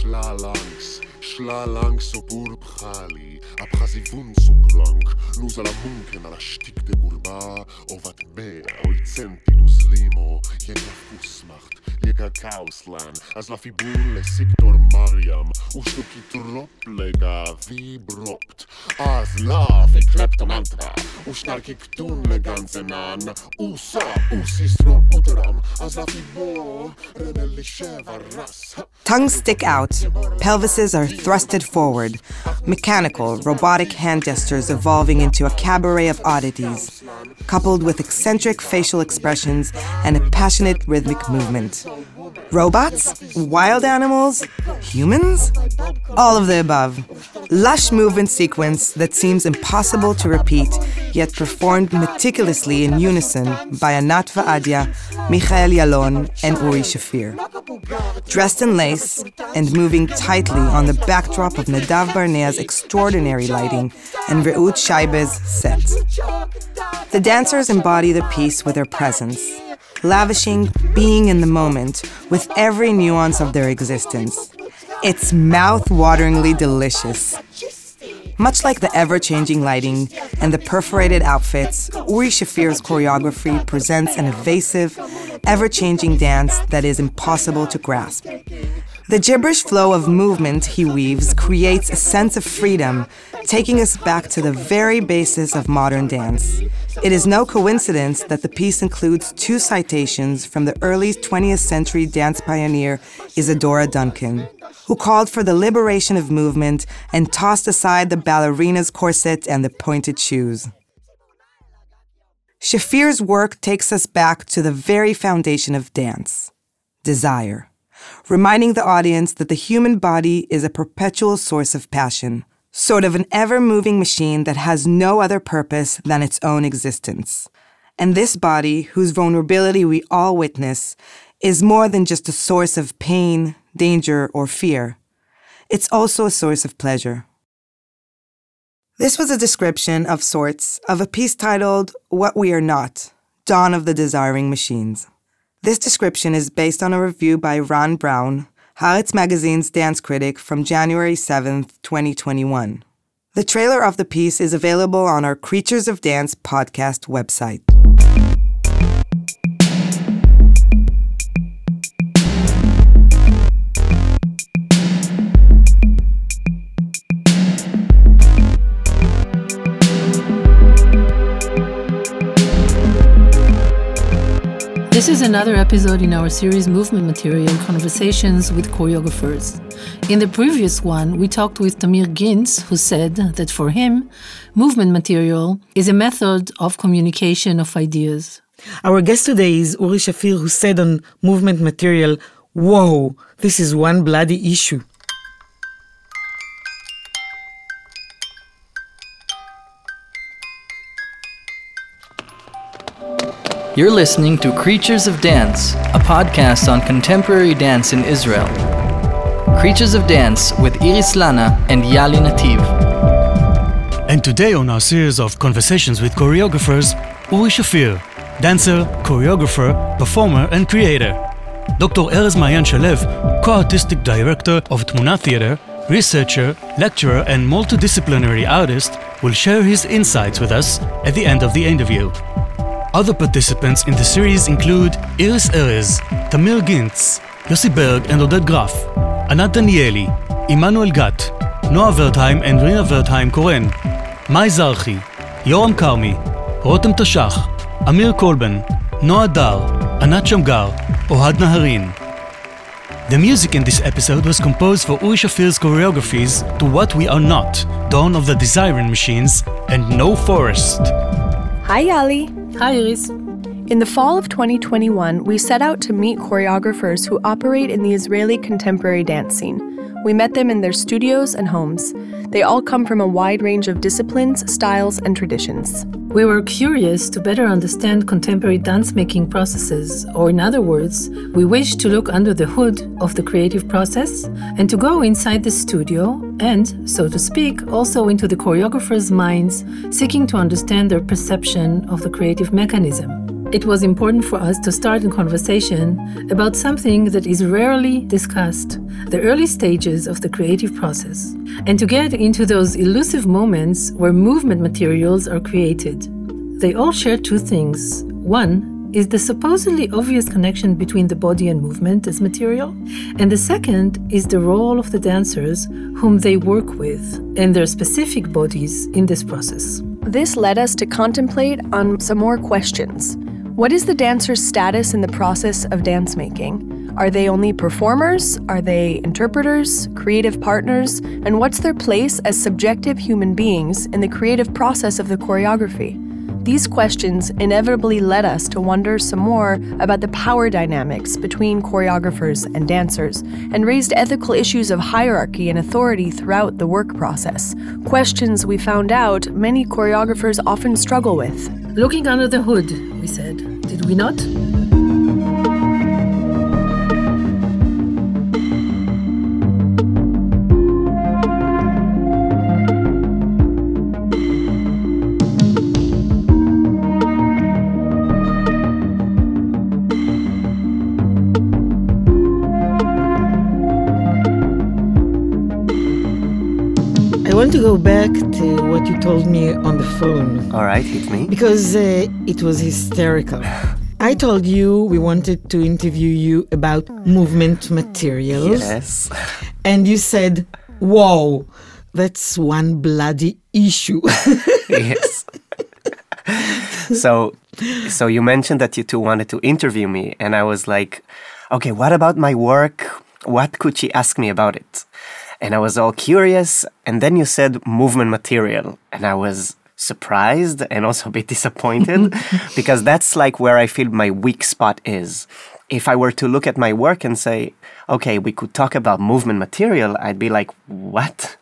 Schlalang so burbchali, abchasivun so krank, nus alla munken alla stick de gurba, ovat be, oizenti dus limo, jega fusmacht, jega kauslan, as la fibule Siktor Mariam, ustuki troplega vibropt, as la fiklept mantra, usnarki ktun le ganzenan, usa usistro utram, as la fibo, renelli sheva ras. Tongues stick out, pelvises are thrusted forward, mechanical, robotic hand gestures evolving into a cabaret of oddities, coupled with eccentric facial expressions and a passionate rhythmic movement. Robots? Wild animals? Humans? All of the above. Lush movement sequence that seems impossible to repeat, yet performed meticulously in unison by Anat Vaadia, Michael Yalon, and Uri Shafir. Dressed in lace and moving tightly on the backdrop of Nadav Barnea's extraordinary lighting and Reut Shaibe's set. The dancers embody the piece with their presence, lavishing being in the moment with every nuance of their existence. It's mouth-wateringly delicious. Much like the ever-changing lighting and the perforated outfits, Uri Shafir's choreography presents an evasive, ever-changing dance that is impossible to grasp. The gibberish flow of movement he weaves creates a sense of freedom, taking us back to the very basis of modern dance. It is no coincidence that the piece includes 2 citations from the early 20th century dance pioneer Isadora Duncan, who called for the liberation of movement and tossed aside the ballerina's corset and the pointed shoes. Shafir's work takes us back to the very foundation of dance, desire, reminding the audience that the human body is a perpetual source of passion, sort of an ever-moving machine that has no other purpose than its own existence. And this body, whose vulnerability we all witness, is more than just a source of pain, danger, or fear. It's also a source of pleasure. This was a description of sorts of a piece titled What We Are Not, Dawn of the Desiring Machines. This description is based on a review by Ron Brown, Haaretz magazine's dance critic, from January 7th, 2021. The trailer of the piece is available on our Creatures of Dance podcast website. This is another episode in our series Movement Material Conversations with Choreographers. In the previous one, we talked with Tamir Gintz, who said that for him, movement material is a method of communication of ideas. Our guest today is Uri Shafir, who said on movement material, "Whoa, this is one bloody issue." You're listening to Creatures of Dance, a podcast on contemporary dance in Israel. Creatures of Dance with Iris Lana and Yali Nativ. And today on our series of conversations with choreographers, Uri Shafir, dancer, choreographer, performer and creator. Dr. Erez Maayan Shalev, co-artistic director of Tmuna Theater, researcher, lecturer and multidisciplinary artist, will share his insights with us at the end of the interview. Other participants in the series include Iris Erez, Tamir Gintz, Yossi Berg and Oded Graf, Anat Danieli, Immanuel Gat, Noah Wertheim and Rina Wertheim-Koren, Mai Zarchi, Yoram Karmi, Rotem Tashach, Amir Kolben, Noah Dar, Anat Shamgar, Ohad Naharin. The music in this episode was composed for Uri Shafir's choreographies to What We Are Not, Dawn of the Desiring Machines, and No Forest. Hi, Yali. Hi, Iris. In the fall of 2021, we set out to meet choreographers who operate in the Israeli contemporary dance scene. We met them in their studios and homes. They all come from a wide range of disciplines, styles, and traditions. We were curious to better understand contemporary dance-making processes, or in other words, we wished to look under the hood of the creative process and to go inside the studio and, so to speak, also into the choreographers' minds, seeking to understand their perception of the creative mechanism. it was important for us to start a conversation about something that is rarely discussed, the early stages of the creative process, and to get into those elusive moments where movement materials are created. They all share two things. One is the supposedly obvious connection between the body and movement as material, and the second is the role of the dancers whom they work with and their specific bodies in this process. This led us to contemplate on some more questions. What is the dancer's status in the process of dance making? Are they only performers? Are they interpreters, creative partners? And what's their place as subjective human beings in the creative process of the choreography? These questions inevitably led us to wonder some more about the power dynamics between choreographers and dancers, and raised ethical issues of hierarchy and authority throughout the work process. Questions we found out many choreographers often struggle with. Looking under the hood, we said, did we not? I want to go back to what you told me on the phone. All right, hit me. Because it was hysterical. I told you we wanted to interview you about movement materials. Yes. And you said, whoa, that's one bloody issue. Yes. So you mentioned that you two wanted to interview me, and I was like, okay, what about my work? What could she ask me about it? And I was all curious, and then you said movement material, and I was surprised and also a bit disappointed because that's like where I feel my weak spot is. If I were to look at my work and say, okay, we could talk about movement material, I'd be like, what?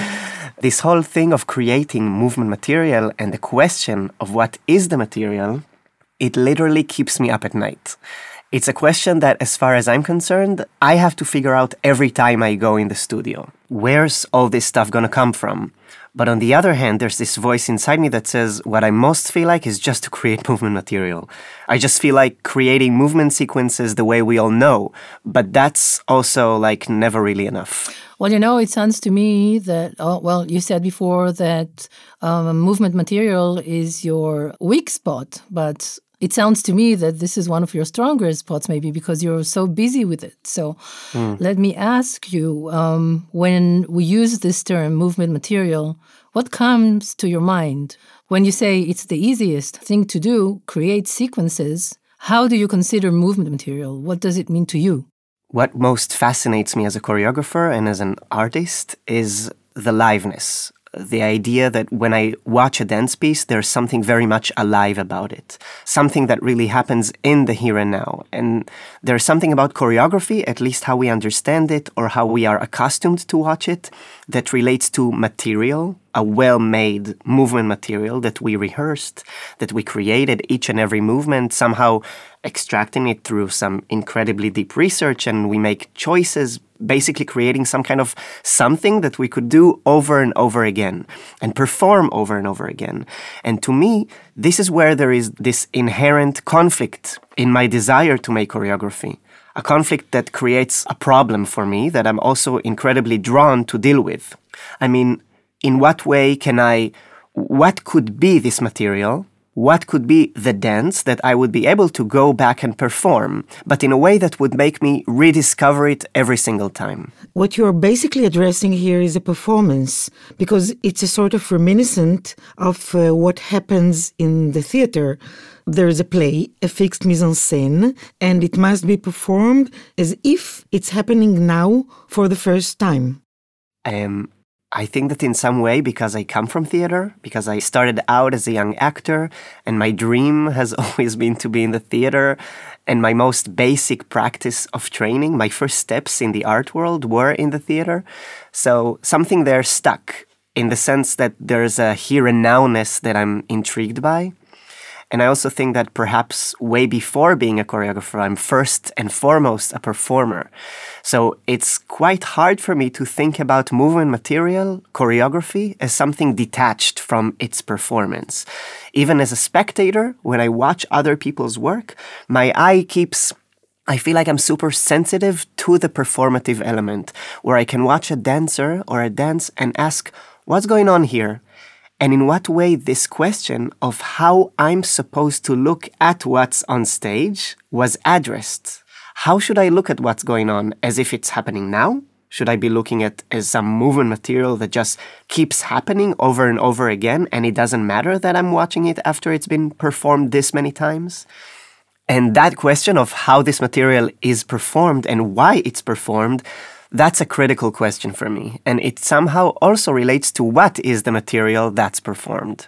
This whole thing of creating movement material and the question of what is the material, it literally keeps me up at night. It's a question that, as far as I'm concerned, I have to figure out every time I go in the studio. Where's all this stuff gonna come from? But on the other hand, there's this voice inside me that says what I most feel like is just to create movement material. I just feel like creating movement sequences the way we all know, but that's also like never really enough. Well, it sounds to me that, you said before that movement material is your weak spot, but it sounds to me that this is one of your stronger spots, maybe because you're so busy with it. So let me ask you, when we use this term, movement material, what comes to your mind? When you say it's the easiest thing to do, create sequences, how do you consider movement material? What does it mean to you? What most fascinates me as a choreographer and as an artist is the liveness. The idea that when I watch a dance piece, there's something very much alive about it. Something that really happens in the here and now. And there's something about choreography, at least how we understand it or how we are accustomed to watch it, that relates to material, a well-made movement material that we rehearsed, that we created each and every movement, somehow extracting it through some incredibly deep research, and we make choices, basically creating some kind of something that we could do over and over again and perform over and over again. And to me, this is where there is this inherent conflict in my desire to make choreography. A conflict that creates a problem for me that I'm also incredibly drawn to deal with. I mean, in what way what could be this material? What could be the dance that I would be able to go back and perform, but in a way that would make me rediscover it every single time? What you're basically addressing here is a performance, because it's a sort of reminiscent of what happens in the theater. There is a play, a fixed mise-en-scène, and it must be performed as if it's happening now for the first time. I think that in some way, because I come from theater, because I started out as a young actor, and my dream has always been to be in the theater, and my most basic practice of training, my first steps in the art world were in the theater. So something there stuck in the sense that there's a here and now-ness that I'm intrigued by. And I also think that perhaps way before being a choreographer, I'm first and foremost a performer. So it's quite hard for me to think about movement material, choreography, as something detached from its performance. Even as a spectator, when I watch other people's work, my eye I feel like I'm super sensitive to the performative element, where I can watch a dancer or a dance and ask, what's going on here? And in what way this question of how I'm supposed to look at what's on stage was addressed. How should I look at what's going on? As if it's happening now? Should I be looking at as some movement material that just keeps happening over and over again, and it doesn't matter that I'm watching it after it's been performed this many times? And that question of how this material is performed and why it's performed, that's a critical question for me. And it somehow also relates to what is the material that's performed.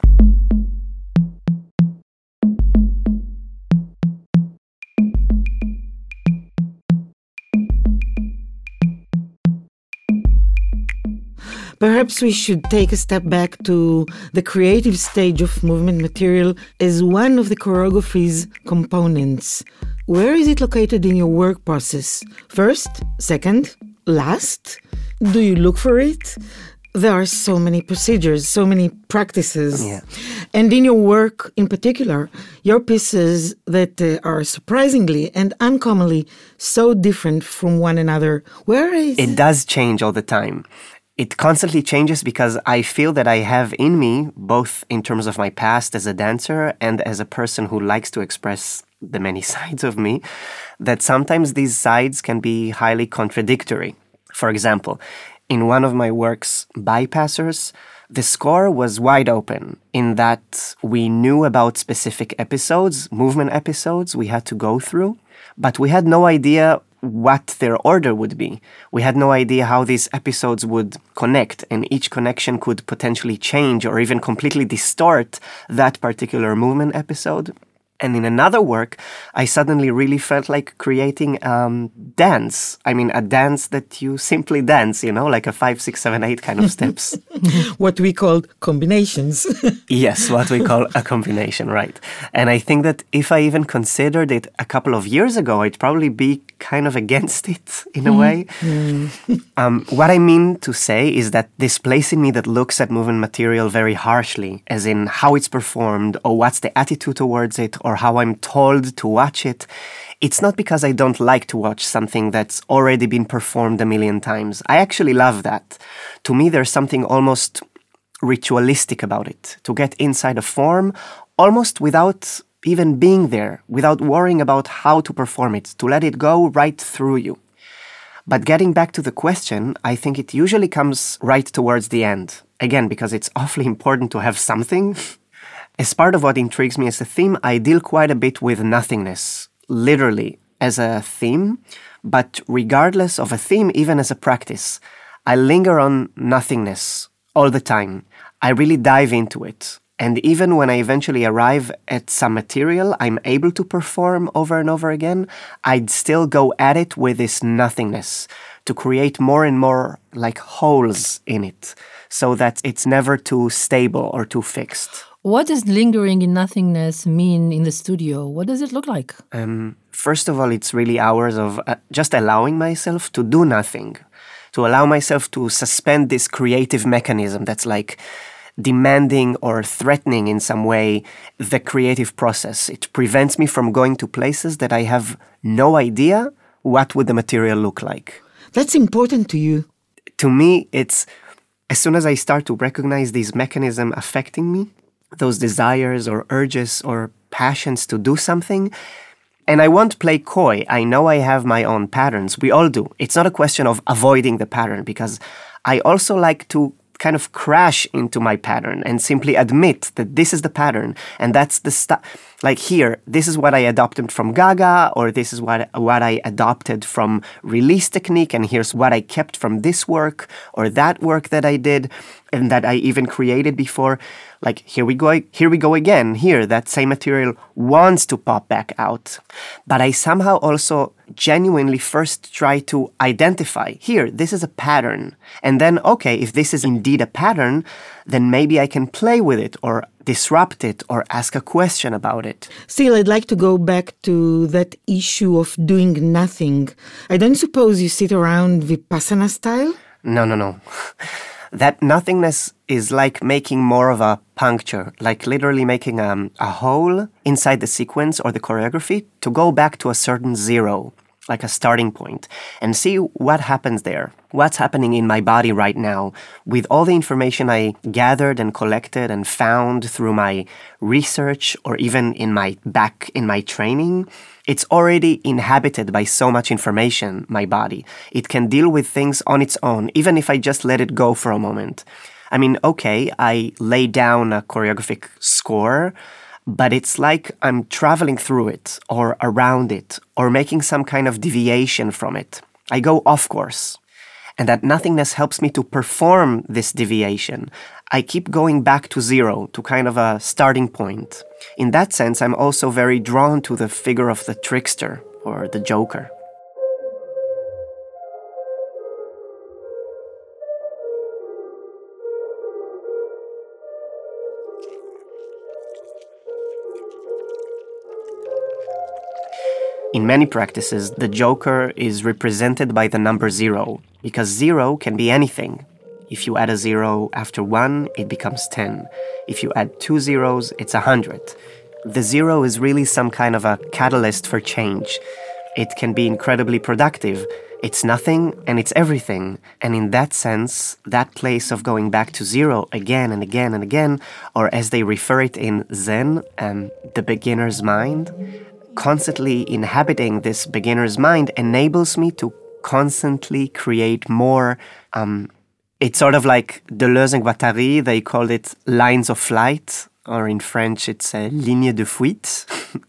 Perhaps we should take a step back to the creative stage of movement material as one of the choreography's components. Where is it located in your work process? First? Second? Last? Do you look for it? There are so many procedures, so many practices. Yeah. And in your work in particular, your pieces that are surprisingly and uncommonly so different from one another. Where is it? It does change all the time. It constantly changes because I feel that I have in me, both in terms of my past as a dancer and as a person who likes to express the many sides of me, that sometimes these sides can be highly contradictory. For example, in one of my works, Bypassers, the score was wide open in that we knew about specific episodes, movement episodes we had to go through, but we had no idea what their order would be. We had no idea how these episodes would connect, and each connection could potentially change or even completely distort that particular movement episode. And in another work, I suddenly really felt like creating dance. I mean, a dance that you simply dance, like a 5, 6, 7, 8 kind of steps. What we call combinations. Yes, what we call a combination, right. And I think that if I even considered it a couple of years ago, I'd probably be kind of against it in a way. What I mean to say is that this place in me that looks at movement material very harshly, as in how it's performed or what's the attitude towards it, or how I'm told to watch it, it's not because I don't like to watch something that's already been performed a million times. I actually love that. To me, there's something almost ritualistic about it, to get inside a form almost without even being there, without worrying about how to perform it, to let it go right through you. But getting back to the question, I think it usually comes right towards the end. Again, because it's awfully important to have something. As part of what intrigues me as a theme, I deal quite a bit with nothingness, literally as a theme, but regardless of a theme, even as a practice, I linger on nothingness all the time. I really dive into it. And even when I eventually arrive at some material I'm able to perform over and over again, I'd still go at it with this nothingness to create more and more like holes in it so that it's never too stable or too fixed. What does lingering in nothingness mean in the studio? What does it look like? First of all, it's really hours of just allowing myself to do nothing, to allow myself to suspend this creative mechanism that's like demanding or threatening in some way the creative process. It prevents me from going to places that I have no idea what would the material look like. That's important to you. To me, it's as soon as I start to recognize these mechanisms affecting me, those desires or urges or passions to do something, and I won't play coy. I know I have my own patterns. We all do. It's not a question of avoiding the pattern, because I also like to kind of crash into my pattern and simply admit that this is the pattern and that's the stuff. Like here, this is what I adopted from Gaga, or this is what I adopted from Release Technique, and here's what I kept from this work or that work that I did and that I even created before. Like here we go again. Here, that same material wants to pop back out. But I somehow also genuinely first try to identify, here, this is a pattern. And then, okay, if this is indeed a pattern, then maybe I can play with it, or disrupt it or ask a question about it. Still, I'd like to go back to that issue of doing nothing. I don't suppose you sit around Vipassana style? No. That nothingness is like making more of a puncture, like literally making a hole inside the sequence or the choreography to go back to a certain zero, like a starting point, and see what happens there. What's happening in my body right now with all the information I gathered and collected and found through my research or even in my training. It's already inhabited by so much information, my body. It can deal with things on its own, even if I just let it go for a moment. I mean, okay, I lay down a choreographic score, but it's like I'm traveling through it or around it or making some kind of deviation from it. I go off course. And that nothingness helps me to perform this deviation. I keep going back to zero, to kind of a starting point. In that sense, I'm also very drawn to the figure of the trickster or the joker. In many practices, the joker is represented by the number 0, because 0 can be anything. If you add a 0 after 1, it becomes 10. If you add 2 zeros, it's 100. The 0 is really some kind of a catalyst for change. It can be incredibly productive. It's nothing and it's everything. And in that sense, that place of going back to 0 again and again and again, or as they refer it in Zen, the beginner's mind, constantly inhabiting this beginner's mind enables me to constantly create more. It's sort of like Deleuze and Guattari, they call it lines of flight, or in French it's ligne de fuite.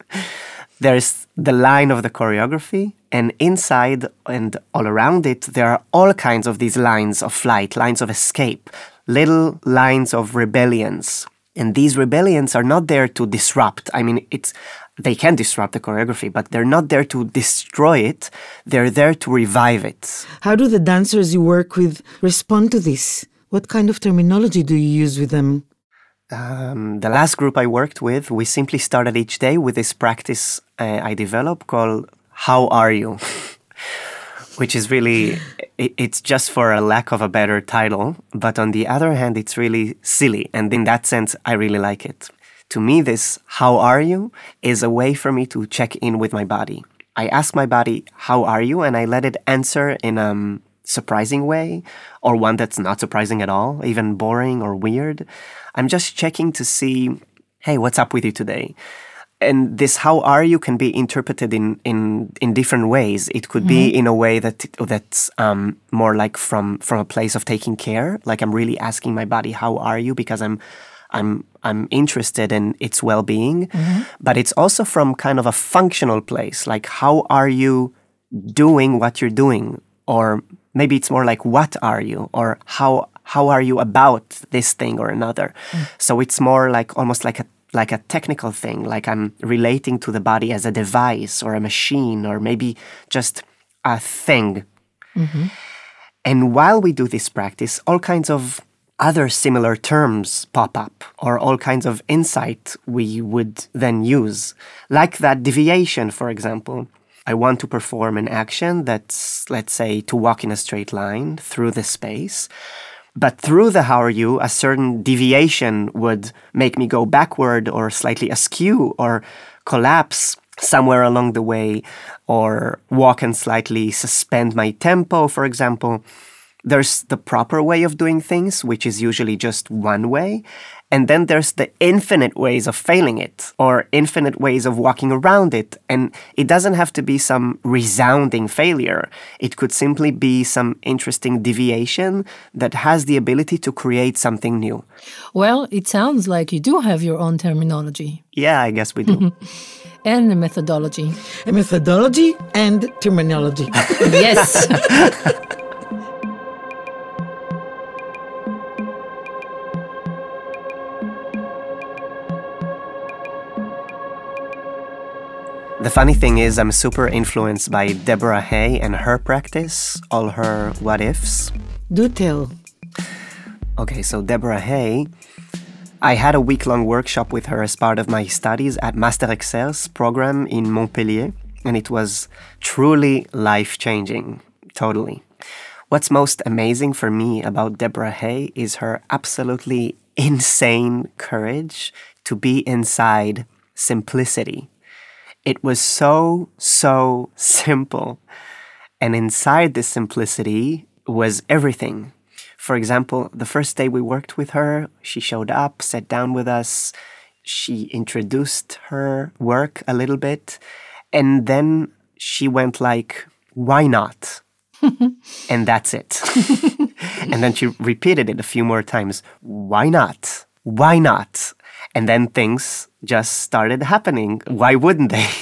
There's the line of the choreography, and inside and all around it, there are all kinds of these lines of flight, lines of escape, little lines of rebellions. And these rebellions are not there to disrupt. I mean, they can disrupt the choreography, but they're not there to destroy it. They're there to revive it. How do the dancers you work with respond to this? What kind of terminology do you use with them? The last group I worked with, we simply started each day with this practice I developed called How Are You? Which is really, it's just for a lack of a better title. But on the other hand, it's really silly. And in that sense, I really like it. To me, this how are you is a way for me to check in with my body. I ask my body, how are you? And I let it answer in a surprising way or one that's not surprising at all, even boring or weird. I'm just checking to see, hey, what's up with you today? And this how are you can be interpreted in different ways. It could be in a way that's more like from a place of taking care. Like I'm really asking my body, how are you? Because I'm interested in its well-being. But it's also from kind of a functional place. Like how are you doing what you're doing? Or maybe it's more like what are you? Or how are you about this thing or another? So it's more like almost like a technical thing, like I'm relating to the body as a device or a machine or maybe just a thing. And while we do this practice, all kinds of other similar terms pop up or all kinds of insight we would then use. Like that deviation, for example. I want to perform an action that's, let's say, to walk in a straight line through the space. But through the how are you, a certain deviation would make me go backward or slightly askew or collapse somewhere along the way or walk and slightly suspend my tempo, for example. There's the proper way of doing things, which is usually just one way. And then there's the infinite ways of failing it or infinite ways of walking around it. And it doesn't have to be some resounding failure. It could simply be some interesting deviation that has the ability to create something new. Well, it sounds like you do have your own terminology. Yeah, I guess we do. And a methodology. A methodology and terminology. Yes. The funny thing is I'm super influenced by Deborah Hay and her practice, all her what-ifs. Do tell. Okay, so Deborah Hay, I had a week-long workshop with her as part of my studies at Master Exerce program in Montpellier, and it was truly life-changing, totally. What's most amazing for me about Deborah Hay is her absolutely insane courage to be inside simplicity. It was so simple. And inside this simplicity was everything. For example, the first day we worked with her, she showed up, sat down with us, she introduced her work a little bit, and then she went like, "Why not?" And that's it. And then she repeated it a few more times. "Why not? Why not?" And then things just started happening. Why wouldn't they,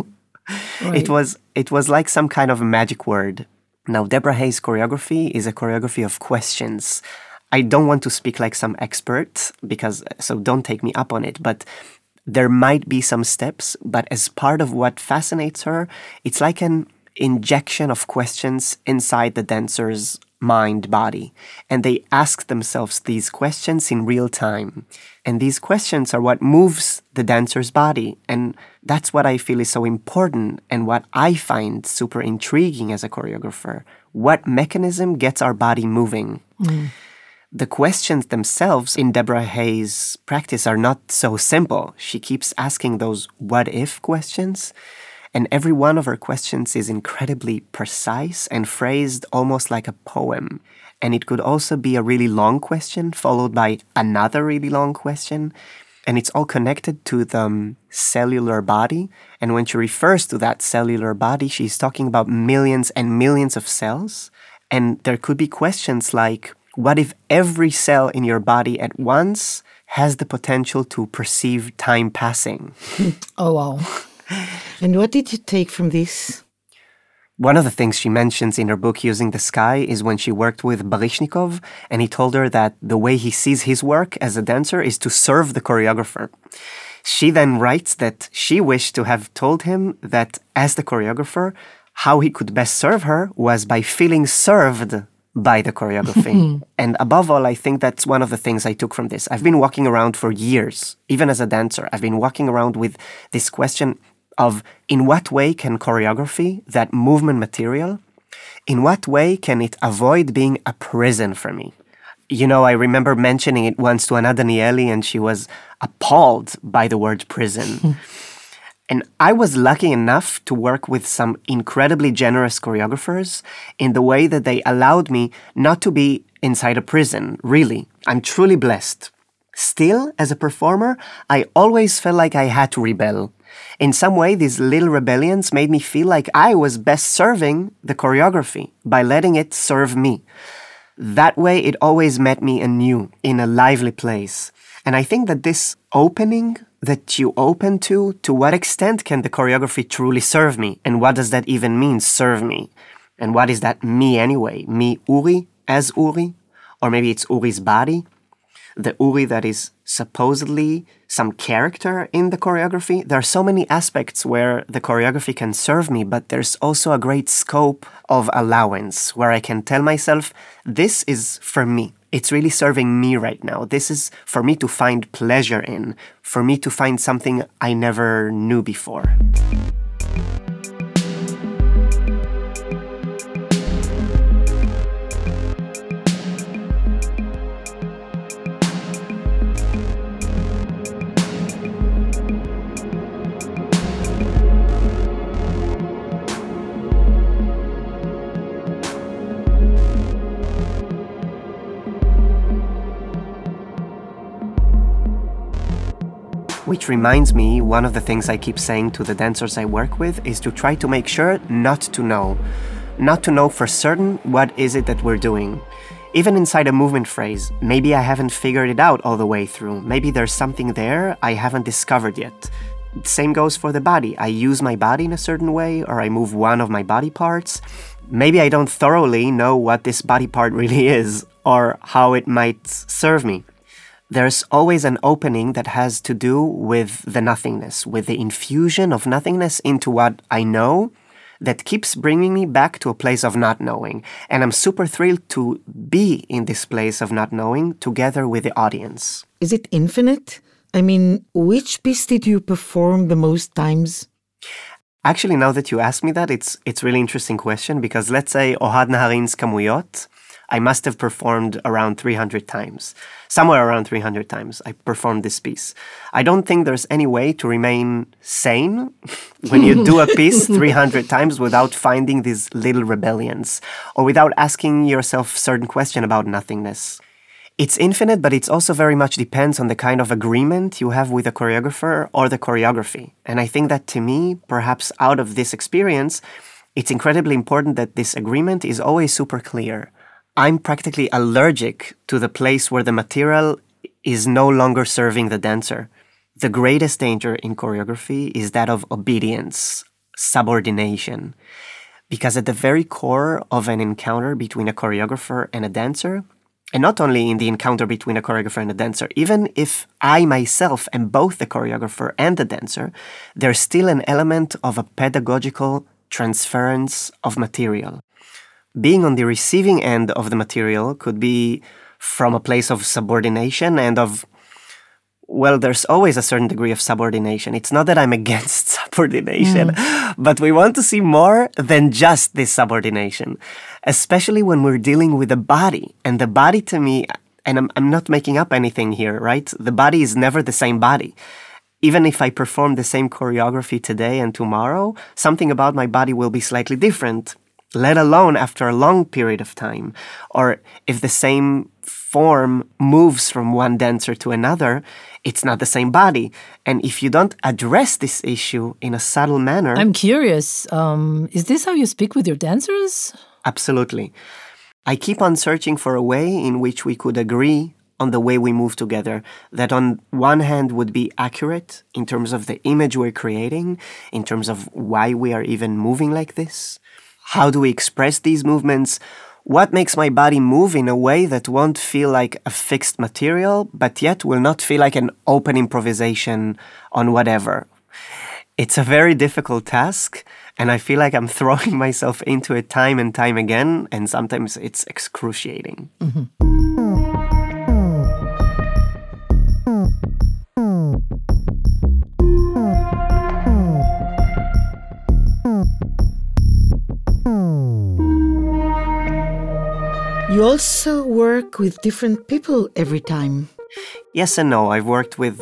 Right. It was like some kind of a magic word. Now, Deborah Hay's choreography is a choreography of questions. I don't want to speak like some expert, so don't take me up on it, but there might be some steps, but as part of what fascinates her, it's like an injection of questions inside the dancer's mind, body. And they ask themselves these questions in real time. And these questions are what moves the dancer's body. And that's what I feel is so important and what I find super intriguing as a choreographer. What mechanism gets our body moving? Mm. The questions themselves in Deborah Hay's practice are not so simple. She keeps asking those what-if questions. And every one of her questions is incredibly precise and phrased almost like a poem. And it could also be a really long question followed by another really long question. And it's all connected to the cellular body. And when she refers to that cellular body, she's talking about millions and millions of cells. And there could be questions like, what if every cell in your body at once has the potential to perceive time passing? Oh, wow. And what did you take from this? One of the things she mentions in her book, Using the Sky, is when she worked with Baryshnikov, and he told her that the way he sees his work as a dancer is to serve the choreographer. She then writes that she wished to have told him that as the choreographer, how he could best serve her was by feeling served by the choreography. And above all, I think that's one of the things I took from this. I've been walking around for years, even as a dancer. I've been walking around with this question of in what way can choreography, that movement material, in what way can it avoid being a prison for me? I remember mentioning it once to Anna Danieli, and she was appalled by the word prison. And I was lucky enough to work with some incredibly generous choreographers in the way that they allowed me not to be inside a prison, really. I'm truly blessed. Still, as a performer, I always felt like I had to rebel. In some way, these little rebellions made me feel like I was best serving the choreography by letting it serve me. That way, it always met me anew, in a lively place. And I think that this opening that you open to what extent can the choreography truly serve me? And what does that even mean, serve me? And what is that me anyway? Me, Uri, as Uri? Or maybe it's Uri's body? The Uri that is supposedly some character in the choreography. There are so many aspects where the choreography can serve me, but there's also a great scope of allowance where I can tell myself, this is for me. It's really serving me right now. This is for me to find pleasure in, for me to find something I never knew before. Which reminds me, one of the things I keep saying to the dancers I work with is to try to make sure not to know for certain what is it that we're doing. Even inside a movement phrase, maybe I haven't figured it out all the way through. Maybe there's something there I haven't discovered yet. Same goes for the body. I use my body in a certain way, or I move one of my body parts. Maybe I don't thoroughly know what this body part really is, or how it might serve me. There's always an opening that has to do with the nothingness, with the infusion of nothingness into what I know that keeps bringing me back to a place of not knowing. And I'm super thrilled to be in this place of not knowing together with the audience. Is it infinite? I mean, which piece did you perform the most times? Actually, now that you ask me that, it's really interesting question, because let's say Ohad Naharin's Kamuyot, I must have performed around 300 times. Somewhere around 300 times I performed this piece. I don't think there's any way to remain sane when you do a piece 300 times without finding these little rebellions or without asking yourself certain question about nothingness. It's infinite, but it also very much depends on the kind of agreement you have with a choreographer or the choreography. And I think that to me, perhaps out of this experience, it's incredibly important that this agreement is always super clear. I'm practically allergic to the place where the material is no longer serving the dancer. The greatest danger in choreography is that of obedience, subordination. Because at the very core of an encounter between a choreographer and a dancer, and not only in the encounter between a choreographer and a dancer, even if I myself am both the choreographer and the dancer, there's still an element of a pedagogical transference of material. Being on the receiving end of the material could be from a place of subordination and of, well, there's always a certain degree of subordination. It's not that I'm against subordination, but we want to see more than just this subordination, especially when we're dealing with the body. And the body to me, and I'm not making up anything here, right? The body is never the same body. Even if I perform the same choreography today and tomorrow, something about my body will be slightly different, let alone after a long period of time. Or if the same form moves from one dancer to another, it's not the same body. And if you don't address this issue in a subtle manner... I'm curious, is this how you speak with your dancers? Absolutely. I keep on searching for a way in which we could agree on the way we move together, that on one hand would be accurate in terms of the image we're creating, in terms of why we are even moving like this. How do we express these movements? What makes my body move in a way that won't feel like a fixed material, but yet will not feel like an open improvisation on whatever? It's a very difficult task, and I feel like I'm throwing myself into it time and time again, and sometimes it's excruciating. You also work with different people every time. Yes and no. I've worked with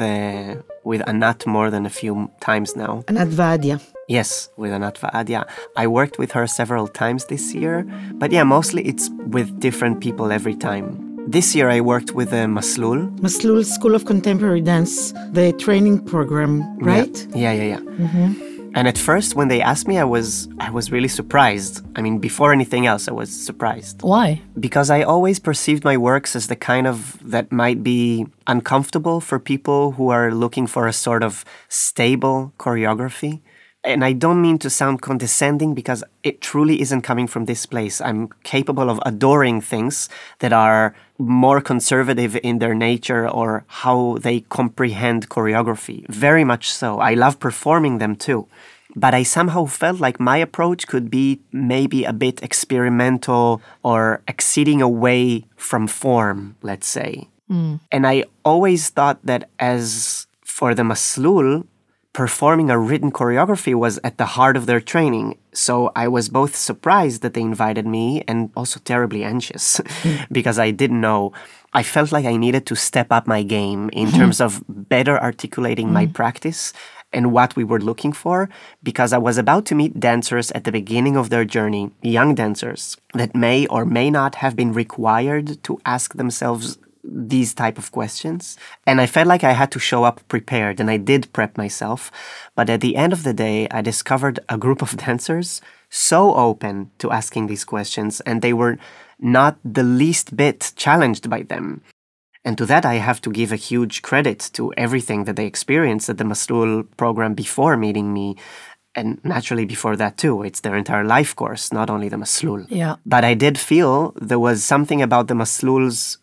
Anat more than a few times now. Anat Vahadia. Yes, with Anat Vahadia. I worked with her several times this year, but yeah, mostly it's with different people every time. This year I worked with Maslul. Maslul School of Contemporary Dance, the training program, right? Yeah. And at first, when they asked me, I was really surprised. I mean, before anything else, I was surprised. Why? Because I always perceived my works as the kind of that might be uncomfortable for people who are looking for a sort of stable choreography. And I don't mean to sound condescending, because it truly isn't coming from this place. I'm capable of adoring things that are more conservative in their nature or how they comprehend choreography. Very much so. I love performing them too. But I somehow felt like my approach could be maybe a bit experimental or exceeding away from form, let's say. And I always thought that as for the Maslul, performing a written choreography was at the heart of their training. So I was both surprised that they invited me and also terribly anxious because I didn't know. I felt like I needed to step up my game in terms of better articulating my practice and what we were looking for, because I was about to meet dancers at the beginning of their journey, young dancers that may or may not have been required to ask themselves these type of questions. And I felt like I had to show up prepared, and I did prep myself. But at the end of the day, I discovered a group of dancers so open to asking these questions, and they were not the least bit challenged by them. And to that, I have to give a huge credit to everything that they experienced at the Maslul program before meeting me. And naturally before that too, it's their entire life course, not only the Maslul. Yeah. But I did feel there was something about the Masluls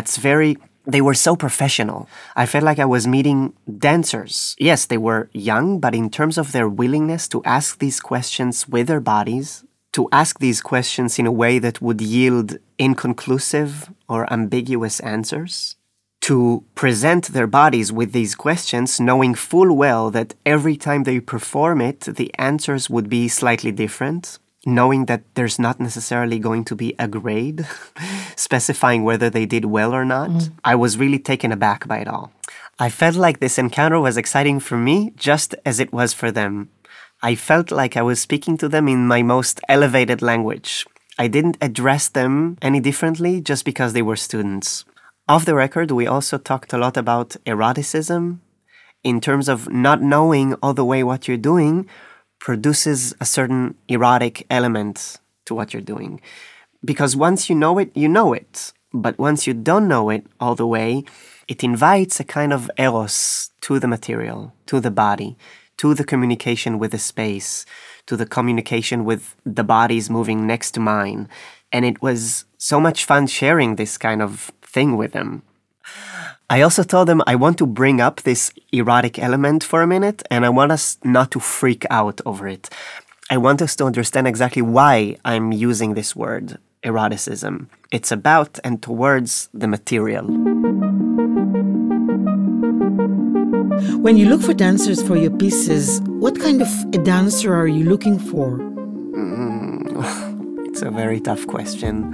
they were so professional. I felt like I was meeting dancers. Yes, they were young, but in terms of their willingness to ask these questions with their bodies, to ask these questions in a way that would yield inconclusive or ambiguous answers, to present their bodies with these questions, knowing full well that every time they perform it, the answers would be slightly different, knowing that there's not necessarily going to be a grade specifying whether they did well or not. I was really taken aback by it all. I felt like this encounter was exciting for me just as it was for them. I felt like I was speaking to them in my most elevated language. I didn't address them any differently just because they were students. Off the record, we also talked a lot about eroticism in terms of not knowing all the way what you're doing produces a certain erotic element to what you're doing. Because once you know it, you know it. But once you don't know it all the way, it invites a kind of eros to the material, to the body, to the communication with the space, to the communication with the bodies moving next to mine. And it was so much fun sharing this kind of thing with them. I also told them I want to bring up this erotic element for a minute, and I want us not to freak out over it. I want us to understand exactly why I'm using this word, eroticism. It's about and towards the material. When you look for dancers for your pieces, what kind of a dancer are you looking for? It's a very tough question.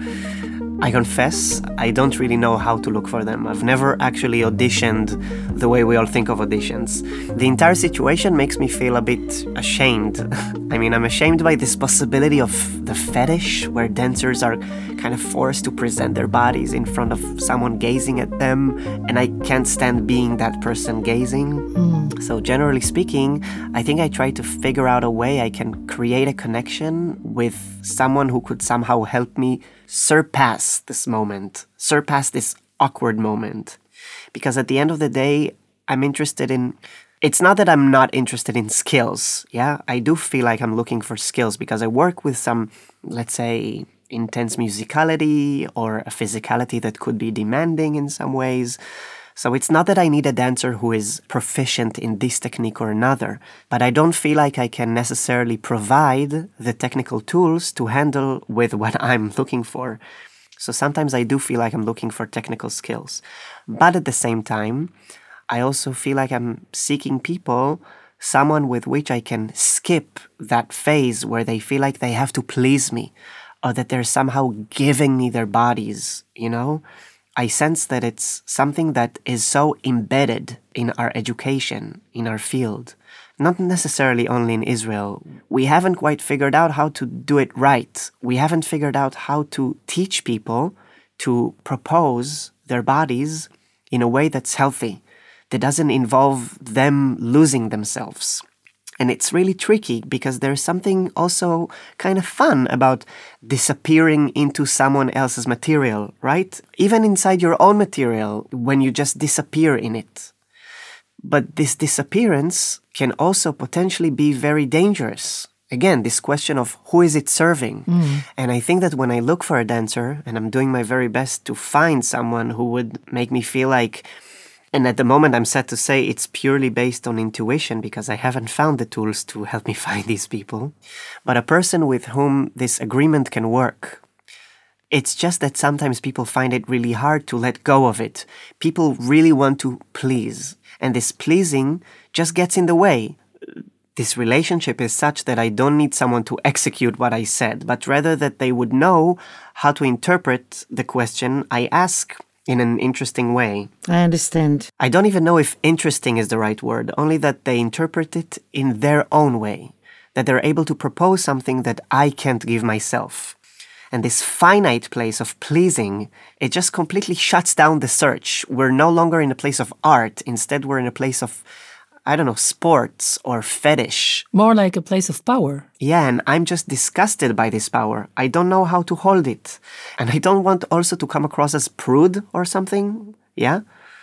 I confess, I don't really know how to look for them. I've never actually auditioned the way we all think of auditions. The entire situation makes me feel a bit ashamed. I mean, I'm ashamed by this possibility of the fetish, where dancers are kind of forced to present their bodies in front of someone gazing at them, and I can't stand being that person gazing. So generally speaking, I think I try to figure out a way I can create a connection with someone who could somehow help me surpass this moment, surpass this awkward moment. Because at the end of the day, I'm interested in... It's not that I'm not interested in skills, yeah? I do feel like I'm looking for skills because I work with some, let's say, intense musicality or a physicality that could be demanding in some ways. So it's not that I need a dancer who is proficient in this technique or another, but I don't feel like I can necessarily provide the technical tools to handle with what I'm looking for. So sometimes I do feel like I'm looking for technical skills. But at the same time, I also feel like I'm seeking people, someone with which I can skip that phase where they feel like they have to please me or that they're somehow giving me their bodies, you know? I sense that it's something that is so embedded in our education, in our field, not necessarily only in Israel. We haven't quite figured out how to do it right. We haven't figured out how to teach people to propose their bodies in a way that's healthy, that doesn't involve them losing themselves. And it's really tricky because there's something also kind of fun about disappearing into someone else's material, right? Even inside your own material, when you just disappear in it. But this disappearance can also potentially be very dangerous. Again, this question of who is it serving? And I think that when I look for a dancer, and I'm doing my very best to find someone who would make me feel like... And at the moment, I'm sad to say it's purely based on intuition because I haven't found the tools to help me find these people. But a person with whom this agreement can work. It's just that sometimes people find it really hard to let go of it. People really want to please. And this pleasing just gets in the way. This relationship is such that I don't need someone to execute what I said, but rather that they would know how to interpret the question I ask in an interesting way. I understand. I don't even know if interesting is the right word, only that they interpret it in their own way, that they're able to propose something that I can't give myself. And this finite place of pleasing, it just completely shuts down the search. We're no longer in a place of art. Instead, we're in a place of, I don't know, sports or fetish. More like a place of power. Yeah, and I'm just disgusted by this power. I don't know how to hold it. And I don't want also to come across as prude or something. Yeah?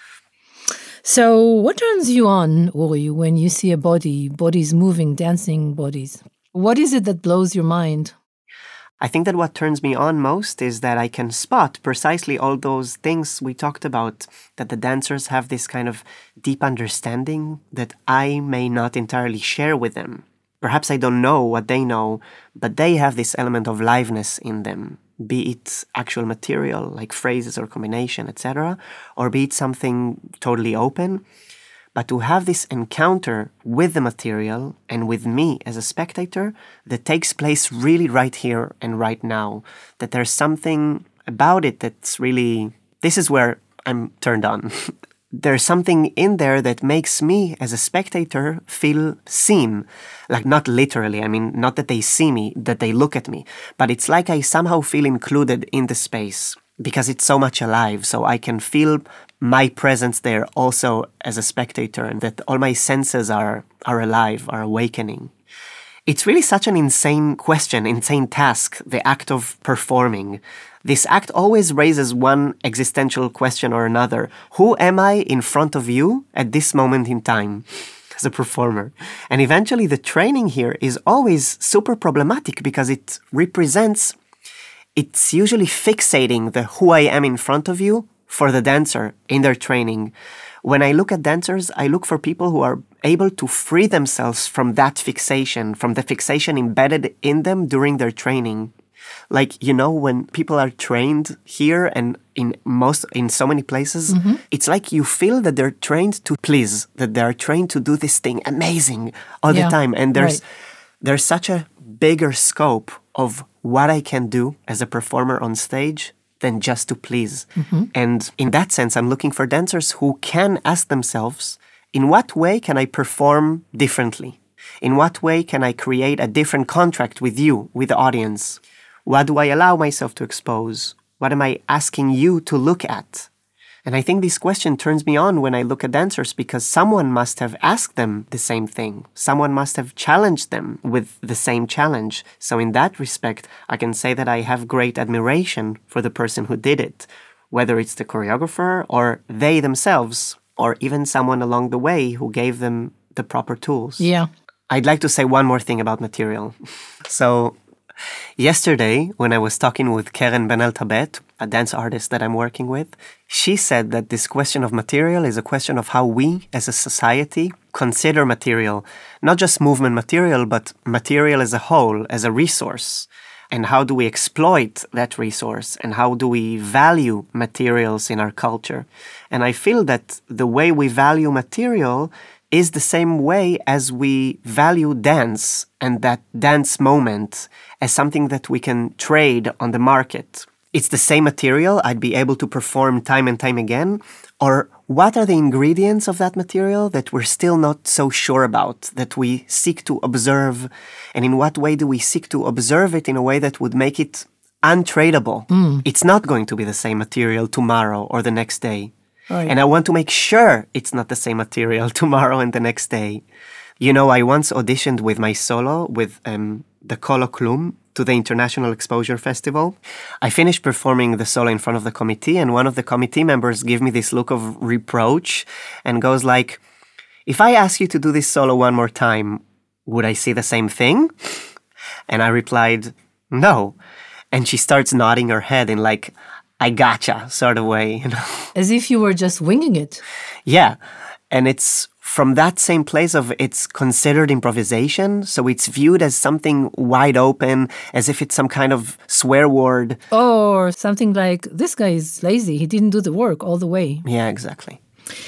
So what turns you on, Uri, when you see a bodies moving, dancing bodies? What is it that blows your mind? I think that what turns me on most is that I can spot precisely all those things we talked about, that the dancers have this kind of deep understanding that I may not entirely share with them. Perhaps I don't know what they know, but they have this element of liveness in them. be it actual material like phrases or combination, etc., or be it something totally open. But to have this encounter with the material and with me as a spectator that takes place really right here and right now, that there's something about it that's really, this is where I'm turned on. There's something in there that makes me as a spectator feel seen. Like not literally, I mean, not that they see me, that they look at me, but it's like I somehow feel included in the space because it's so much alive. So I can feel my presence there also as a spectator, and that all my senses are alive, are awakening. It's really such an insane question, insane task, the act of performing. This act always raises one existential question or another. Who am I in front of you at this moment in time as a performer? And eventually the training here is always super problematic because it's usually fixating the who I am in front of you for the dancer in their training. When I look at dancers, I look for people who are able to free themselves from that fixation, from the fixation embedded in them during their training. Like, when people are trained here and in so many places, it's like you feel that they're trained to please, that they're trained to do this thing amazing all the time. And there's such a bigger scope of what I can do as a performer on stage than just to please. And in that sense, I'm looking for dancers who can ask themselves, in what way can I perform differently? In what way can I create a different contract with you, with the audience? What do I allow myself to expose? What am I asking you to look at? And I think this question turns me on when I look at dancers because someone must have asked them the same thing. Someone must have challenged them with the same challenge. So in that respect, I can say that I have great admiration for the person who did it, whether it's the choreographer or they themselves, or even someone along the way who gave them the proper tools. Yeah. I'd like to say one more thing about material. So yesterday, when I was talking with Keren Ben-Eltabet, a dance artist that I'm working with, she said that this question of material is a question of how we, as a society, consider material. Not just movement material, but material as a whole, as a resource. And how do we exploit that resource? And how do we value materials in our culture? And I feel that the way we value material is the same way as we value dance and that dance moment as something that we can trade on the market. It's the same material I'd be able to perform time and time again, or what are the ingredients of that material that we're still not so sure about, that we seek to observe, and in what way do we seek to observe it in a way that would make it untradeable? It's not going to be the same material tomorrow or the next day. Right. And I want to make sure it's not the same material tomorrow and the next day. I once auditioned with my solo with the Kolo Klum to the International Exposure Festival. I finished performing the solo in front of the committee, and one of the committee members gave me this look of reproach and goes like, if I ask you to do this solo one more time, would I see the same thing? And I replied, no. And she starts nodding her head in like, I gotcha sort of way. As if you were just winging it. Yeah. And it's from that same place of it's considered improvisation, so it's viewed as something wide open, as if it's some kind of swear word. Or something like, this guy is lazy, he didn't do the work all the way. Yeah, exactly.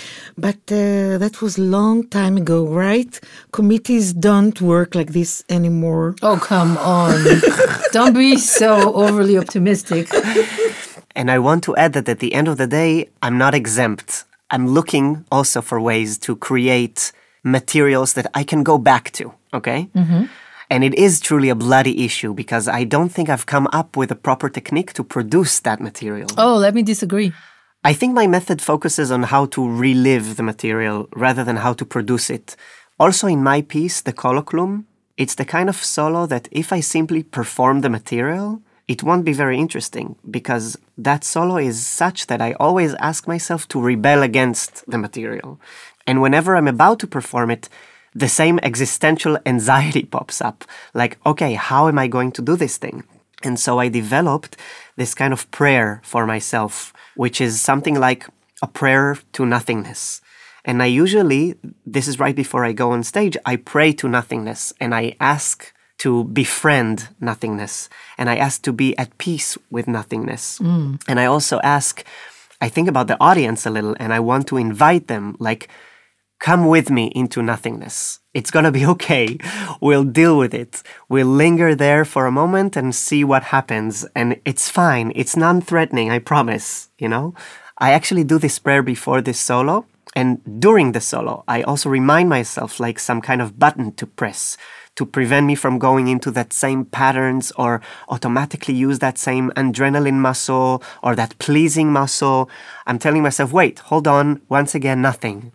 But that was a long time ago, right? Committees don't work like this anymore. Oh, come on. Don't be so overly optimistic. And I want to add that at the end of the day, I'm not exempt. I'm looking also for ways to create materials that I can go back to, okay? And it is truly a bloody issue because I don't think I've come up with a proper technique to produce that material. Oh, let me disagree. I think my method focuses on how to relive the material rather than how to produce it. Also in my piece, the Kolo Klum, it's the kind of solo that if I simply perform the material, it won't be very interesting because that solo is such that I always ask myself to rebel against the material. And whenever I'm about to perform it, the same existential anxiety pops up. Like, okay, how am I going to do this thing? And so I developed this kind of prayer for myself, which is something like a prayer to nothingness. And I usually, this is right before I go on stage, I pray to nothingness and I ask to befriend nothingness. And I ask to be at peace with nothingness. And I also I think about the audience a little, and I want to invite them, like, come with me into nothingness. It's going to be okay. We'll deal with it. We'll linger there for a moment and see what happens. And it's fine. It's non-threatening, I promise, I actually do this prayer before this solo. And during the solo, I also remind myself like some kind of button to press to prevent me from going into that same patterns or automatically use that same adrenaline muscle or that pleasing muscle. I'm telling myself, wait, hold on. Once again, nothing.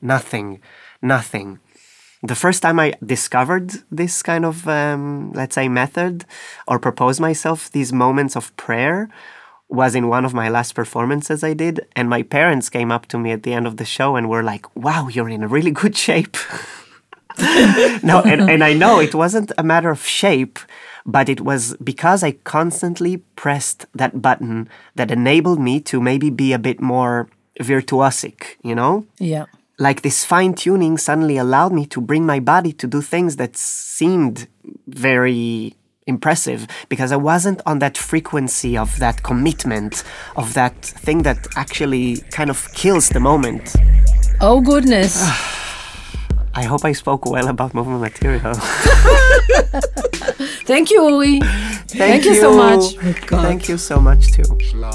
The first time I discovered this kind of, let's say, method or proposed myself these moments of prayer was in one of my last performances I did. And my parents came up to me at the end of the show and were like, wow, you're in a really good shape. No, and I know it wasn't a matter of shape, but it was because I constantly pressed that button that enabled me to maybe be a bit more virtuosic, Yeah. Like this fine-tuning suddenly allowed me to bring my body to do things that seemed very impressive because I wasn't on that frequency of that commitment, of that thing that actually kind of kills the moment. Oh, goodness. I hope I spoke well about movement material. Thank you, Uri. Thank you so much. Thank you so much, too.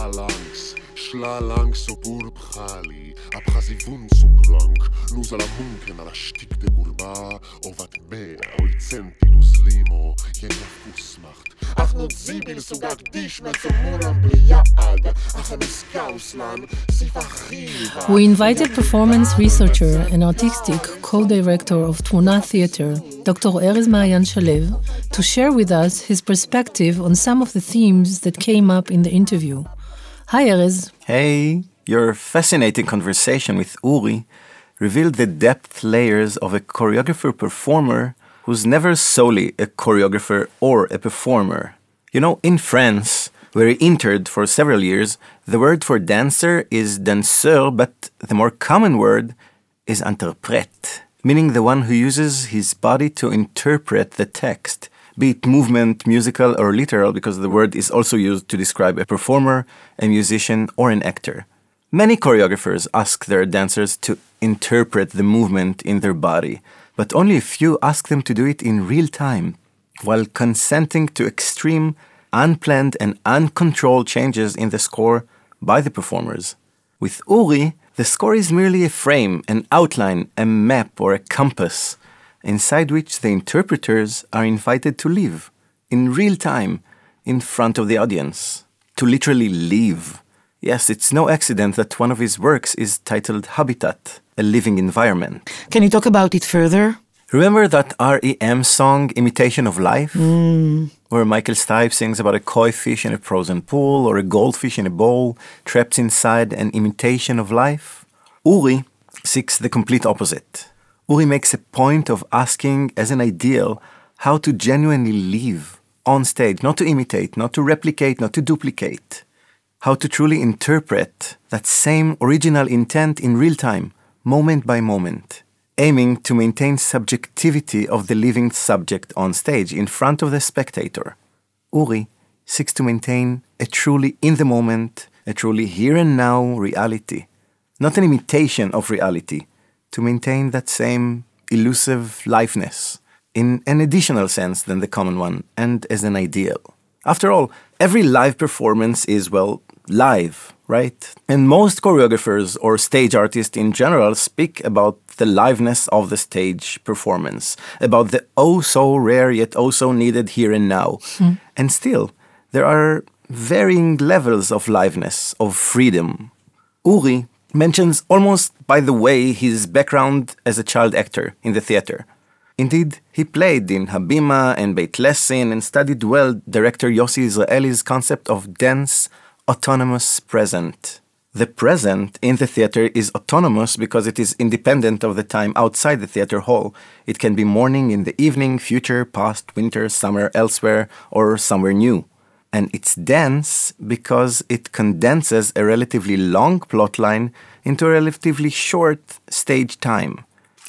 Schla langs op Urb-Khali, abchazivun so krank, nus ala munken ala shtik de gurba, o wat mehr, oi centi dus limo, jena fusmacht. Ach not zibil sugak dish me zum mulam bliad, ach am iskauslan, sifachiva. We invited performance researcher and artistic co-director of Tmuna Theater, Dr. Erez Maayan Shalev, to share with us his perspective on some of the themes that came up in the interview. Hi, Erez. Hey, your fascinating conversation with Uri revealed the depth layers of a choreographer-performer who's never solely a choreographer or a performer. In France, where he interned for several years, the word for dancer is danseur, but the more common word is interprète, meaning the one who uses his body to interpret the text, be it movement, musical, or literal, because the word is also used to describe a performer, a musician, or an actor. Many choreographers ask their dancers to interpret the movement in their body, but only a few ask them to do it in real time, while consenting to extreme, unplanned, and uncontrolled changes in the score by the performers. With Uri, the score is merely a frame, an outline, a map, or a compass, inside which the interpreters are invited to live, in real time, in front of the audience. To literally live. Yes, it's no accident that one of his works is titled Habitat, a living environment. Can you talk about it further? Remember that R.E.M. song, Imitation of Life? Where Michael Stipe sings about a koi fish in a frozen pool or a goldfish in a bowl trapped inside an imitation of life? Uri seeks the complete opposite. Uri makes a point of asking, as an ideal, how to genuinely live on stage, not to imitate, not to replicate, not to duplicate. How to truly interpret that same original intent in real time, moment by moment, aiming to maintain subjectivity of the living subject on stage in front of the spectator. Uri seeks to maintain a truly in-the-moment, a truly here-and-now reality, not an imitation of reality, to maintain that same elusive liveness in an additional sense than the common one and as an ideal. After all, every live performance is, live, right? And most choreographers or stage artists in general speak about the liveness of the stage performance, about the oh-so-rare yet oh-so-needed here and now. And still, there are varying levels of liveness, of freedom. Uri mentions almost by the way his background as a child actor in the theater. Indeed, he played in Habima and Beit Lessin and studied well director Yossi Israeli's concept of dense, autonomous present. The present in the theater is autonomous because it is independent of the time outside the theater hall. It can be morning, in the evening, future, past, winter, summer, elsewhere, or somewhere new. And it's dense because it condenses a relatively long plotline into a relatively short stage time.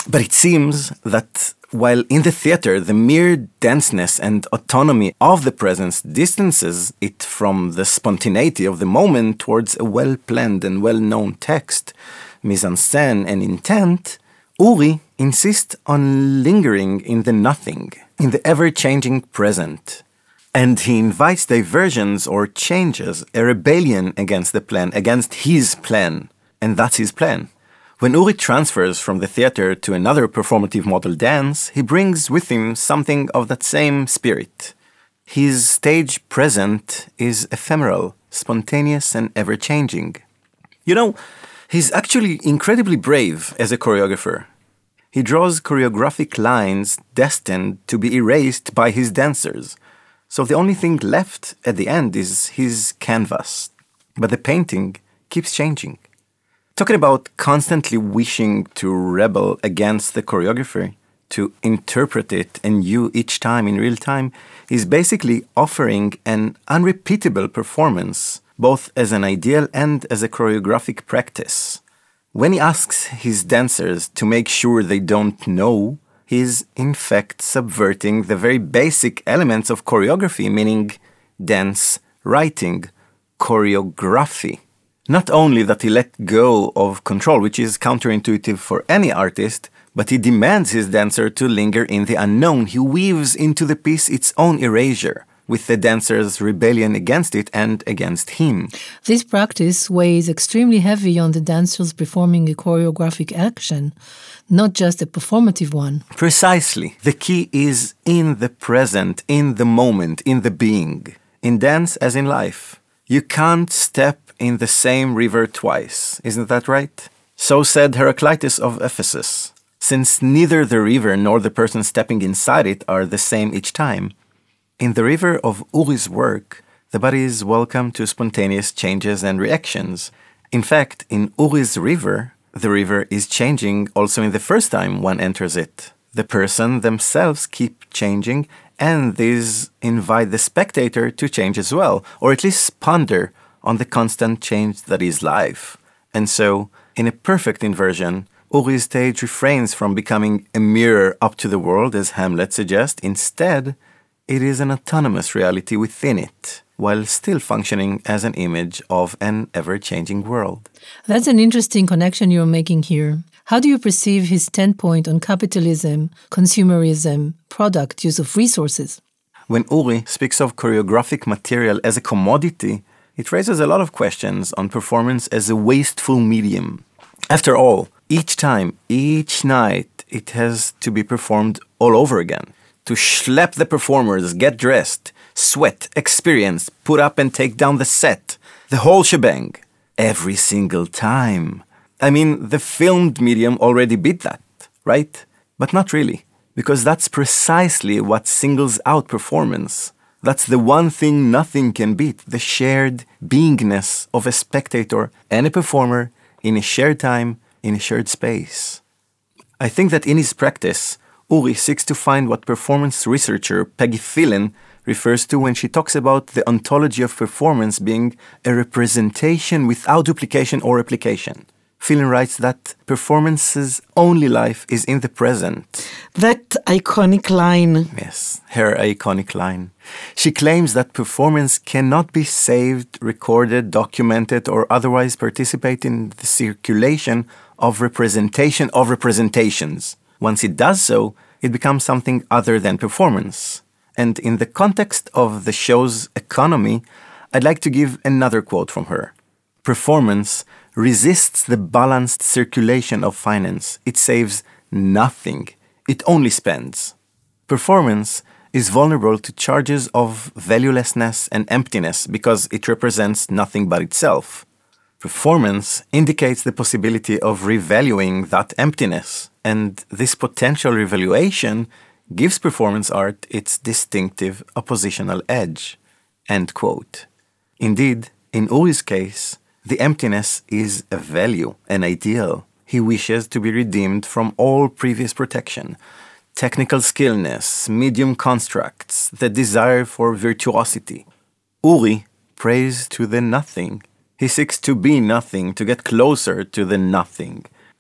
But it seems that while in the theater, the mere denseness and autonomy of the presence distances it from the spontaneity of the moment towards a well-planned and well-known text, mise-en-scène and intent, Uri insists on lingering in the nothing, in the ever-changing present. And he invites diversions or changes, a rebellion against the plan, against his plan. And that's his plan. When Uri transfers from the theater to another performative model dance, he brings with him something of that same spirit. His stage present is ephemeral, spontaneous, and ever-changing. You know, he's actually incredibly brave as a choreographer. He draws choreographic lines destined to be erased by his dancers. So the only thing left at the end is his canvas. But the painting keeps changing. Talking about constantly wishing to rebel against the choreography, to interpret it anew each time in real time, is basically offering an unrepeatable performance, both as an ideal and as a choreographic practice. When he asks his dancers to make sure they don't know, he is in fact subverting the very basic elements of choreography, meaning dance writing, choreography. Not only that he let go of control, which is counterintuitive for any artist, but he demands his dancer to linger in the unknown. He weaves into the piece its own erasure, with the dancer's rebellion against it and against him. This practice weighs extremely heavy on the dancers performing a choreographic action, not just a performative one. Precisely. The key is in the present, in the moment, in the being. In dance as in life. You can't step in the same river twice. Isn't that right? So said Heraclitus of Ephesus. Since neither the river nor the person stepping inside it are the same each time, in the river of Uri's work, the body is welcome to spontaneous changes and reactions. In fact, in Uri's river, the river is changing also in the first time one enters it. The person themselves keep changing, and these invite the spectator to change as well, or at least ponder on the constant change that is life. And so, in a perfect inversion, Uri's stage refrains from becoming a mirror up to the world, as Hamlet suggests. Instead, it is an autonomous reality within it, while still functioning as an image of an ever-changing world. That's an interesting connection you're making here. How do you perceive his standpoint on capitalism, consumerism, product, use of resources? When Uri speaks of choreographic material as a commodity, it raises a lot of questions on performance as a wasteful medium. After all, each time, each night, it has to be performed all over again. To schlep the performers, get dressed, sweat, experience, put up and take down the set, the whole shebang, every single time. I mean, the filmed medium already beat that, right? But not really, because that's precisely what singles out performance. That's the one thing nothing can beat, the shared beingness of a spectator and a performer in a shared time, in a shared space. I think that in his practice, Uri seeks to find what performance researcher Peggy Phelan refers to when she talks about the ontology of performance being a representation without duplication or replication. Phelan writes that performance's only life is in the present. That iconic line. Yes, her iconic line. She claims that performance cannot be saved, recorded, documented, or otherwise participate in the circulation of representation of representations. Once it does so, it becomes something other than performance. And in the context of the show's economy, I'd like to give another quote from her. Performance resists the balanced circulation of finance. It saves nothing. It only spends. Performance is vulnerable to charges of valuelessness and emptiness because it represents nothing but itself. Performance indicates the possibility of revaluing that emptiness, and this potential revaluation gives performance art its distinctive oppositional edge. End quote. Indeed, in Uri's case, the emptiness is a value, an ideal. He wishes to be redeemed from all previous protection. Technical skillness, medium constructs, the desire for virtuosity. Uri prays to the nothing. He seeks to be nothing, to get closer to the nothing.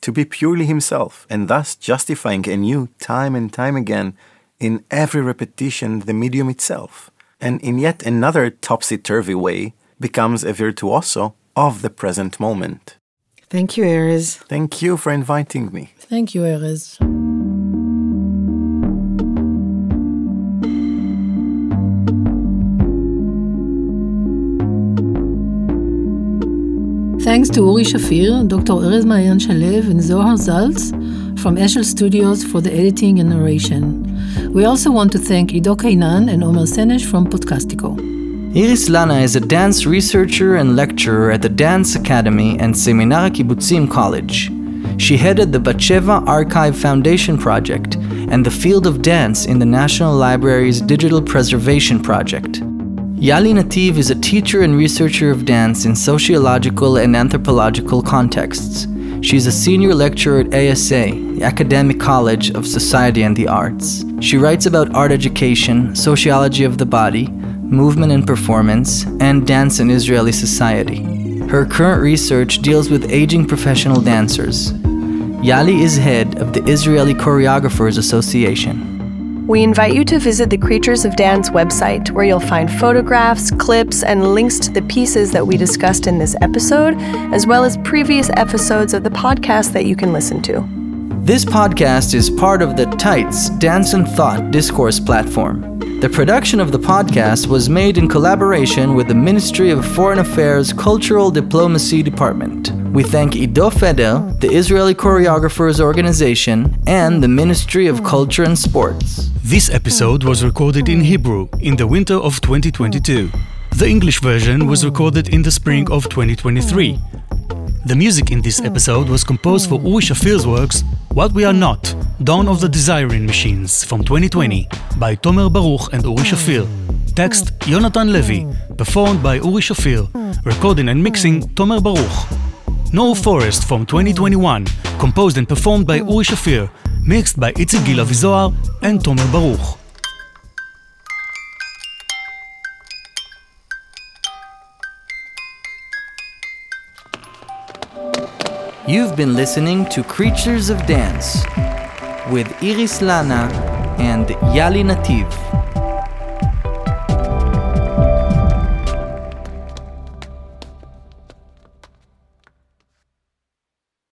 to be purely himself, and thus justifying anew time and time again in every repetition the medium itself, and in yet another topsy-turvy way becomes a virtuoso of the present moment. Thank you, Erez. Thank you for inviting me. Thank you, Erez. Thanks to Uri Shafir, Dr. Erez Maayan Shalev, and Zohar Zaltz from Eshel Studios for the editing and narration. We also want to thank Ido Kainan and Omer Senesh from Podcastico. Iris Lana is a dance researcher and lecturer at the Dance Academy and Seminar Kibbutzim College. She headed the Batsheva Archive Foundation Project and the Field of Dance in the National Library's Digital Preservation Project. Yali Nativ is a teacher and researcher of dance in sociological and anthropological contexts. She's a senior lecturer at ASA, the Academic College of Society and the Arts. She writes about art education, sociology of the body, movement and performance, and dance in Israeli society. Her current research deals with aging professional dancers. Yali is head of the Israeli Choreographers Association. We invite you to visit the Creatures of Dance website, where you'll find photographs, clips, and links to the pieces that we discussed in this episode, as well as previous episodes of the podcast that you can listen to. This podcast is part of the Tights Dance and Thought discourse platform. The production of the podcast was made in collaboration with the Ministry of Foreign Affairs Cultural Diplomacy Department. We thank Ido Feder, the Israeli Choreographers Organization, and the Ministry of Culture and Sports. This episode was recorded in Hebrew in the winter of 2022. The English version was recorded in the spring of 2023. The music in this episode was composed for Uri Shafir's works What We Are Not, Dawn of the Desiring Machines from 2020 by Tomer Baruch and Uri Shafir. Text Yonatan Levy, performed by Uri Shafir, recording and mixing Tomer Baruch. No Forest from 2021, composed and performed by Uri Shafir, mixed by Itzik Gil Avizohar and Tomer Baruch. You've been listening to Creatures of Dance with Iris Lana and Yali Nativ.